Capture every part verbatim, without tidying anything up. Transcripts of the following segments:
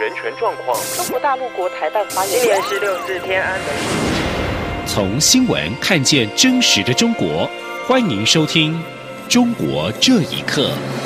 人权状况。 中国大陆国台办发言人， 今年是六四天安门。 从新闻看见真实的中国，欢迎收听《中国这一刻》。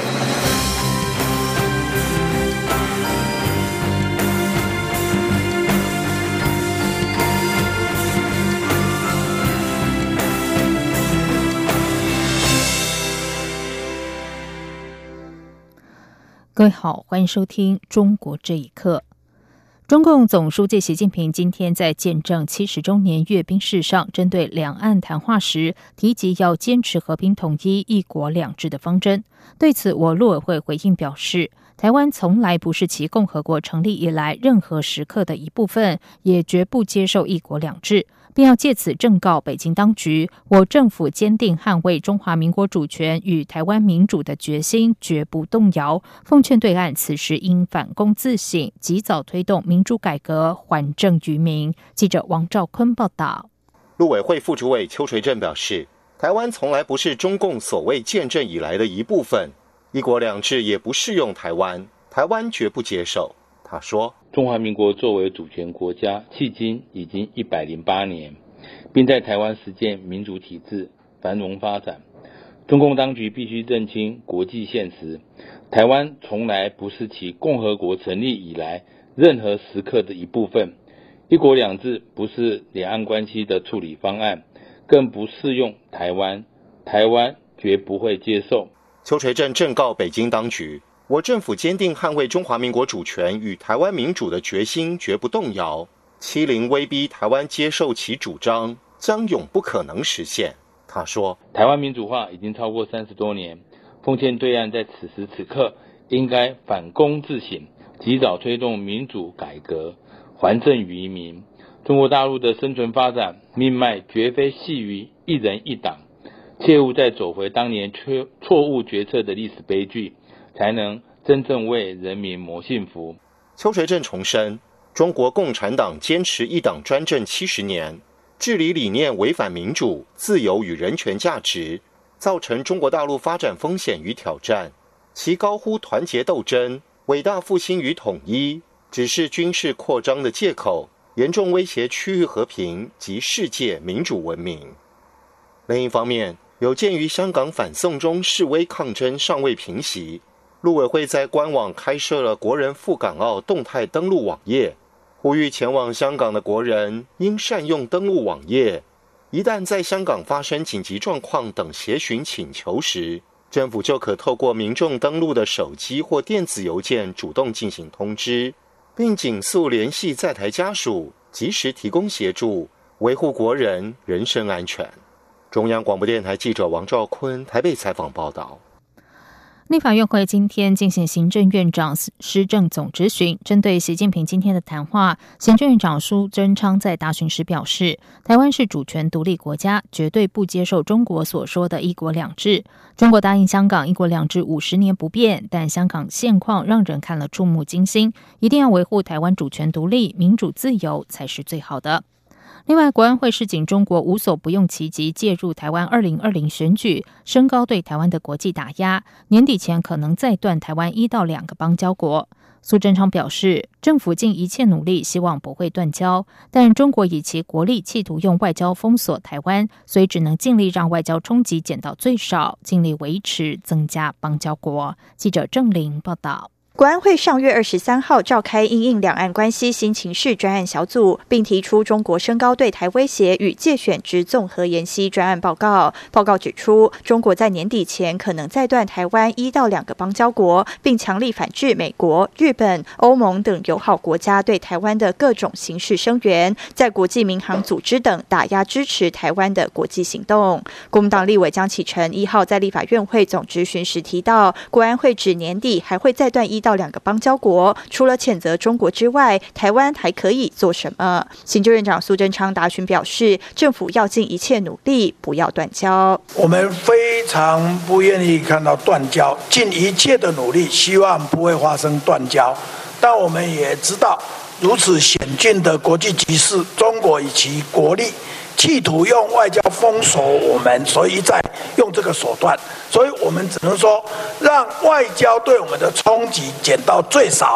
各位好，欢迎收听《中国这一刻》。中共总书记习近平今天在见证七十周年阅兵式上，针对两岸谈话时提及要坚持和平统一、一国两制的方针。对此，我陆委会回应表示，台湾从来不是其共和国成立以来任何时刻的一部分，也绝不接受一国两制，并要借此正告北京当局，我政府坚定捍卫中华民国主权与台湾民主的决心绝不动摇，奉劝对岸此时应反躬自省，及早推动民主改革，还政于民。记者王兆坤报道。 陆委会副主委邱垂正表示，台湾从来不是中共所谓建政以来的一部分，一国两制也不适用台湾，台湾绝不接受。他说， 中华民国作为主权国家，迄今已经一百零八年，并在台湾实践民主体制繁荣发展。中共当局必须认清国际现实，台湾从来不是其共和国成立以来任何时刻的一部分，一国两制不是两岸关系的处理方案，更不适用台湾，台湾绝不会接受。 邱垂正正告北京当局，我政府坚定捍卫中华民国主权与台湾民主的决心绝不动摇，欺凌威逼台湾接受其主张将永不可能实现。他说， 台湾民主化已经超过三十多年，奉劝对岸在此时此刻应该反躬自省，及早推动民主改革，还政于民。中国大陆的生存发展命脉绝非系于一人一党，切勿再走回当年错误决策的历史悲剧，才能真正为人民谋幸福。 邱垂正重申，中国共产党坚持一党专政七十年，治理理念违反民主、自由与人权价值，造成中国大陆发展风险与挑战。其高呼团结斗争、伟大复兴与统一，只是军事扩张的借口，严重威胁区域和平及世界民主文明。另一方面，有鉴于香港反送中示威抗争尚未平息，陆委会在官网开设了国人赴港澳动态登录网页，呼吁前往香港的国人应善用登录网页，一旦在香港发生紧急状况等协寻请求时，政府就可透过民众登录的手机或电子邮件主动进行通知，并紧速联系在台家属，及时提供协助，维护国人人身安全。中央广播电台记者王兆坤台北采访报道。 立法院会今天进行行政院长施政总质询，针对习近平今天的谈话，行政院长苏贞昌在答询时表示，台湾是主权独立国家，绝对不接受中国所说的一国两制。中国答应香港一国两制五十年不变，但香港现况让人看了触目惊心，一定要维护台湾主权独立、民主自由才是最好的。另外，国安会示警中国无所不用其极介入台湾二零二零选举，升高对台湾的国际打压，年底前可能再断台湾一到两个邦交国。苏贞昌表示，政府尽一切努力，希望不会断交，但中国以其国力企图用外交封锁台湾，所以只能尽力让外交冲击减到最少，尽力维持增加邦交国。记者郑玲报道。 国安会上月二十三号召开因应两岸关系新情势专案小组，并提出中国升高对台威胁与介选之综合研析专案报告。报告指出，中国在年底前可能再断台湾一到两个邦交国，并强力反制美国、日本、欧盟等友好国家对台湾的各种形式声援，在国际民航组织等打压支持台湾的国际行动。国民党立委江启臣一号在立法院会总质询时提到，国安会指年底还会再断一到两个邦交国，除了谴责中国之外，台湾还可以做什么？行政院长苏贞昌答询表示，政府要尽一切努力，不要断交。 我们非常不愿意看到断交，尽一切的努力，希望不会发生断交。但我们也知道，如此险峻的国际局势，中国以其国力企图用外交封锁我们，所以一再用这个手段，所以我们只能说让外交对我们的冲击减到最少，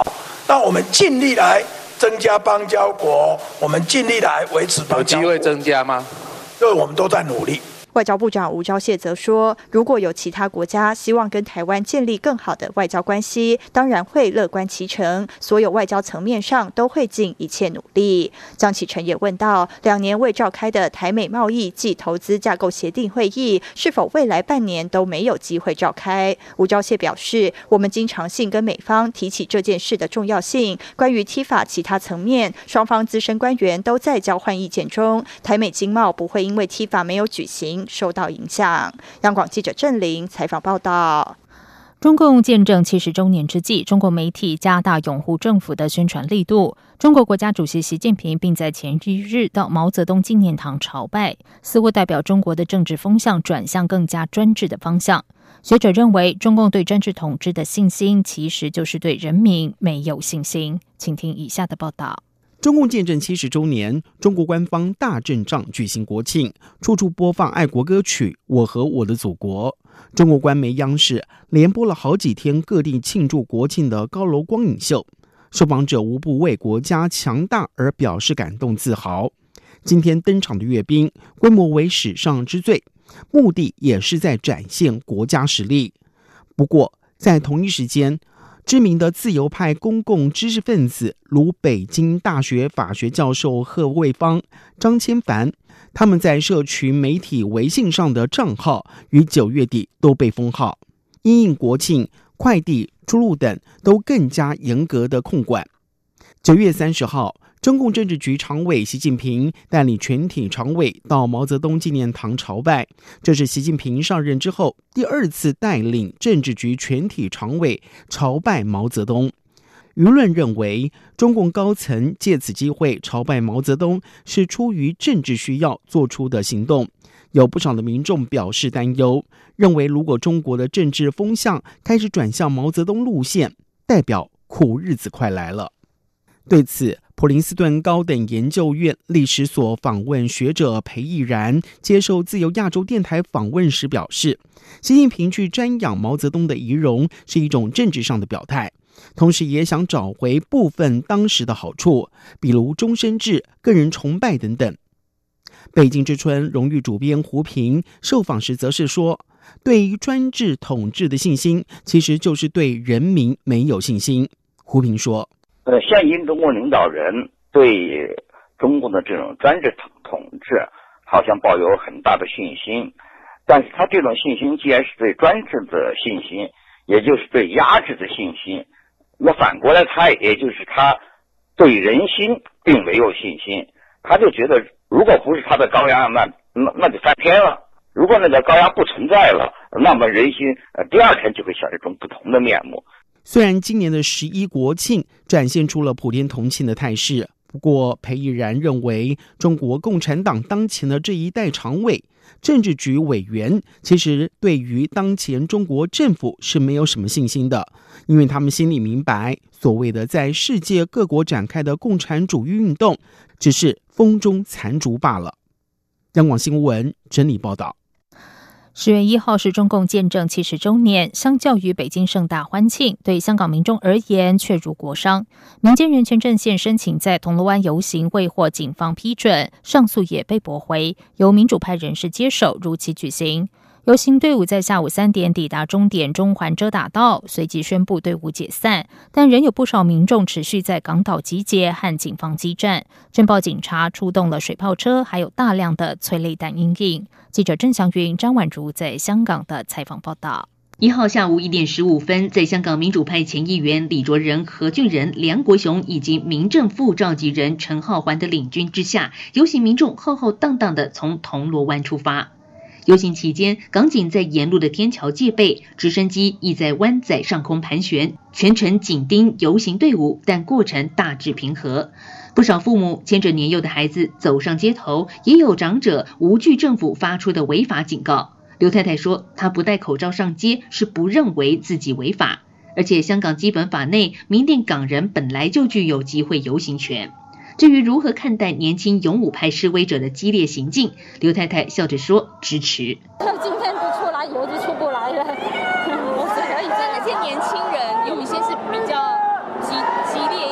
但我们尽力来增加邦交国，我们尽力来维持邦交国。 有机会增加吗？ 这我们都在努力。 外交部长吴钊燮则说，如果有其他国家希望跟台湾建立更好的外交关系，当然会乐观其成，所有外交层面上都会尽一切努力。江启臣也问到，两年未召开的台美贸易暨投资架构协定会议，是否未来半年都没有机会召开？吴钊燮表示，我们经常性跟美方提起这件事的重要性，关于 T I F A 其他层面，双方资深官员都在交换意见中，台美经贸不会因为 T I F A 没有举行受到影响。央广记者郑玲采访报道。 中共建政七十周年之际，中国媒体加大拥护政府的宣传力度。中国国家主席习近平并在前一日到毛泽东纪念堂朝拜，似乎代表中国的政治风向转向更加专制的方向。学者认为，中共对专制统治的信心，其实就是对人民没有信心。请听以下的报道。 中共建政七十周年，中国官方大阵仗举行国庆，处处播放爱国歌曲《我和我的祖国》。中国官媒央视连播了好几天各地庆祝国庆的高楼光影秀，受访者无不为国家强大而表示感动自豪。今天登场的阅兵规模为史上之最，目的也是在展现国家实力。不过在同一时间，知名的自由派公共知识分子如北京大学法学教授贺卫方、张千帆，他们在社群媒体微信上的账号于九月底都被封号，因应国庆、快递、出入等都更加严格的控管。九月三十号，中共政治局常委习近平带领全体常委到毛泽东纪念堂朝拜，这是习近平上任之后第二次带领政治局全体常委朝拜毛泽东。舆论认为，中共高层借此机会朝拜毛泽东是出于政治需要做出的行动。有不少的民众表示担忧，认为如果中国的政治风向开始转向毛泽东路线，代表苦日子快来了。对此，普林斯顿高等研究院历史所访问学者裴毅然接受自由亚洲电台访问时表示，习近平去瞻仰毛泽东的遗容是一种政治上的表态，同时也想找回部分当时的好处，比如终身制、个人崇拜等等。北京之春荣誉主编胡平受访时则是说，对于专制统治的信心，其实就是对人民没有信心。胡平说， 呃，现今中国领导人对中国的这种专制统治好像抱有很大的信心，但是他这种信心既然是对专制的信心，也就是对压制的信心，那反过来他也就是他对人心并没有信心，他就觉得如果不是他的高压，那那那就翻篇了。如果那个高压不存在了，那么人心呃第二天就会显示一种不同的面目。 虽然今年的十一国庆展现出了普天同庆的态势，不过裴毅然认为，中国共产党当前的这一代常委、政治局委员，其实对于当前中国政府是没有什么信心的，因为他们心里明白，所谓的在世界各国展开的共产主义运动，只是风中残烛罢了。央广新闻整理报道。 十月一号是中共建政七十周年，相较于北京盛大欢庆，对香港民众而言却如国殇。民间人权阵线申请在铜锣湾游行未获警方批准，上诉也被驳回，由民主派人士接手如期举行。游行队伍在下午三点抵达终点中环遮打道，随即宣布队伍解散，但仍有不少民众持续在港岛集结和警方激战，镇暴警察出动了水炮车，还有大量的催泪弹因应。记者郑祥云、张婉如在香港的采访报道。 一号下午一点十五分，在香港民主派前议员李卓人、何俊仁、梁国雄以及民政副召集人陈浩环的领军之下，游行民众浩浩荡荡地从铜锣湾出发。游行期间，港警在沿路的天桥戒备，直升机亦在湾仔上空盘旋，全程紧盯游行队伍，但过程大致平和。不少父母牵着年幼的孩子走上街头，也有长者无惧政府发出的违法警告。刘太太说，她不戴口罩上街是不认为自己违法，而且香港基本法内明定港人本来就具有集会游行权。至于如何看待年轻勇武派示威者的激烈行径，刘太太笑着说支持。 今天不出来，以后就出不来了。我是可以，但那些年轻人有一些是比较激激烈一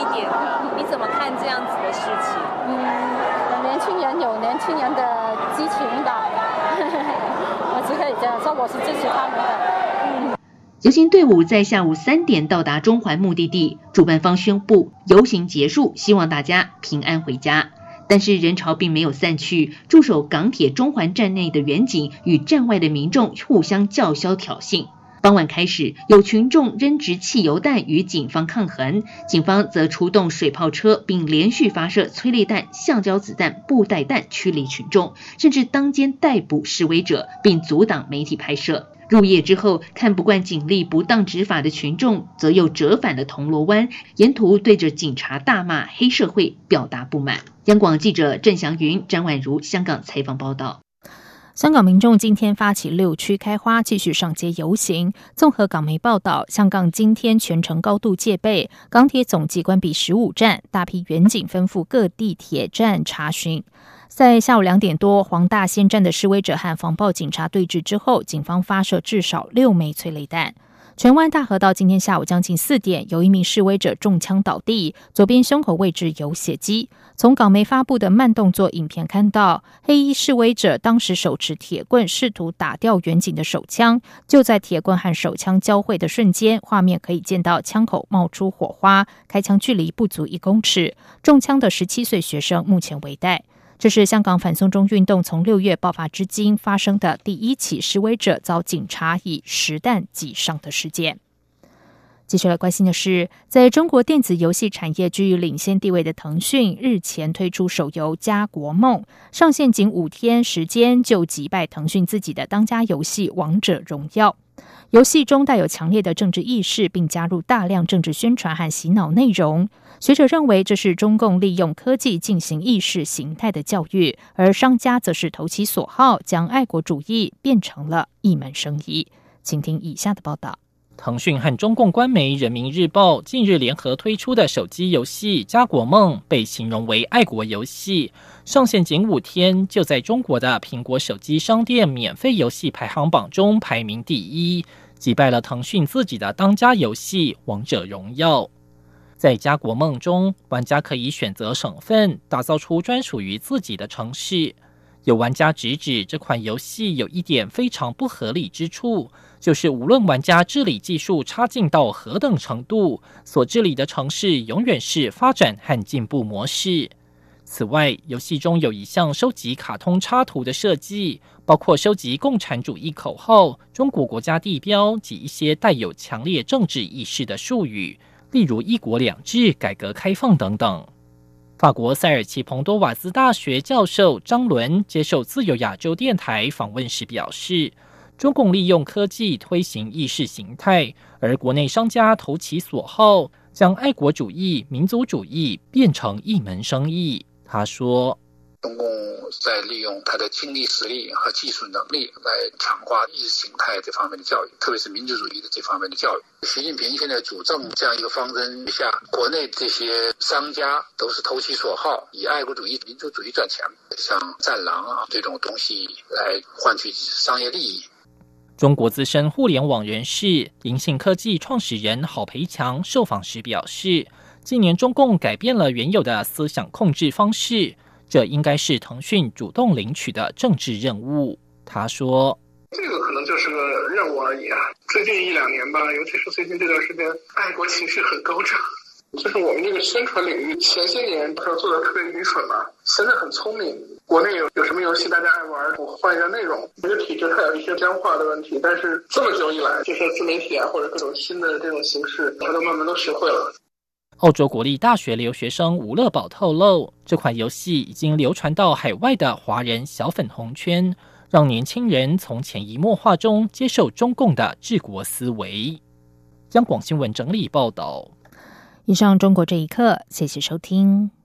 讲说我是支持他们的。嗯。 游行队伍在下午三点到达中环目的地，主办方宣布游行结束，希望大家平安回家。但是人潮并没有散去，驻守港铁中环站内的员警与站外的民众互相叫嚣挑衅。傍晚开始，有群众扔掷汽油弹与警方抗衡，警方则出动水炮车，并连续发射催泪弹、橡胶子弹、布袋弹驱离群众，甚至当间逮捕示威者，并阻挡媒体拍摄。入夜之后，看不惯警力不当执法的群众，则又折返了铜锣湾，沿途对着警察大骂黑社会，表达不满。央广记者郑祥云、张婉如香港采访报道。 香港民众今天发起六区开花，继续上街游行。综合港媒报道，香港今天全城高度戒备，港铁总计关闭十五站，大批员警吩咐各地铁站查询。在下午两点多，黄大仙站的示威者和防暴警察对峙之后，警方发射至少六枚催泪弹。荃湾大河道今天下午将近四点，有一名示威者中枪倒地，左边胸口位置有血迹。从港媒发布的慢动作影片看到，黑衣示威者当时手持铁棍试图打掉远警的手枪，就在铁棍和手枪交汇的瞬间，画面可以见到枪口冒出火花，开枪距离不足一公尺。中枪的十七岁学生目前危殆。这是香港反送中运动从六月爆发至今发生的第一起示威者遭警察以实弹击伤的事件。接下来关心的是，在中国电子游戏产业居于领先地位的腾讯，日前推出手游《家国梦》，上线仅五天时间就击败腾讯自己的当家游戏《王者荣耀》。游戏中带有强烈的政治意识，并加入大量政治宣传和洗脑内容。学者认为，这是中共利用科技进行意识形态的教育，而商家则是投其所好，将爱国主义变成了一门生意。请听以下的报道。 腾讯和中共官媒人民日报近日联合推出的手机游戏《家国梦》被形容为爱国游戏，上线仅五天就在中国的苹果手机商店免费游戏排行榜中排名第一，击败了腾讯自己的当家游戏《王者荣耀》。在《家国梦》中，玩家可以选择省份，打造出专属于自己的城市。有玩家直指这款游戏有一点非常不合理之处，就是无论玩家治理技术差劲到何等程度，所治理的城市永远是发展和进步模式。此外，游戏中有一项收集卡通插图的设计，包括收集共产主义口号、中国国家地标及一些带有强烈政治意识的术语，例如一国两制、改革开放等等。法国塞尔奇彭多瓦兹大学教授张伦接受自由亚洲电台访问时表示，中共利用科技推行意识形态，而国内商家投其所好，将爱国主义、民族主义变成一门生意。他说， 中共在利用它的经济实力和技术能力来强化意识形态这方面的教育，特别是民族主义的这方面的教育。习近平现在主政这样一个方针下，国内这些商家都是投其所好，以爱国主义、民族主义赚钱，像战狼啊这种东西来换取商业利益。 中国资深互联网人士、银信科技创始人郝培强受访时表示，近年中共改变了原有的思想控制方式，这应该是腾讯主动领取的政治任务。他说， 这个可能就是个任务而已啊。最近一两年吧，尤其是最近这段时间，爱国情绪很高涨。就是我们这个宣传领域，前些年他做的特别愚蠢嘛，现在很聪明。国内有有什么游戏大家爱玩，我换一下内容。这个体制它有一些僵化的问题，但是这么久以来，就是自媒体啊或者各种新的这种形式，它都慢慢都学会了。 澳洲国立大学留学生吴乐宝透露，这款游戏已经流传到海外的华人小粉红圈，让年轻人从潜移默化中接受中共的治国思维。央广新闻整理报道。 以上中国这一刻，谢谢收听。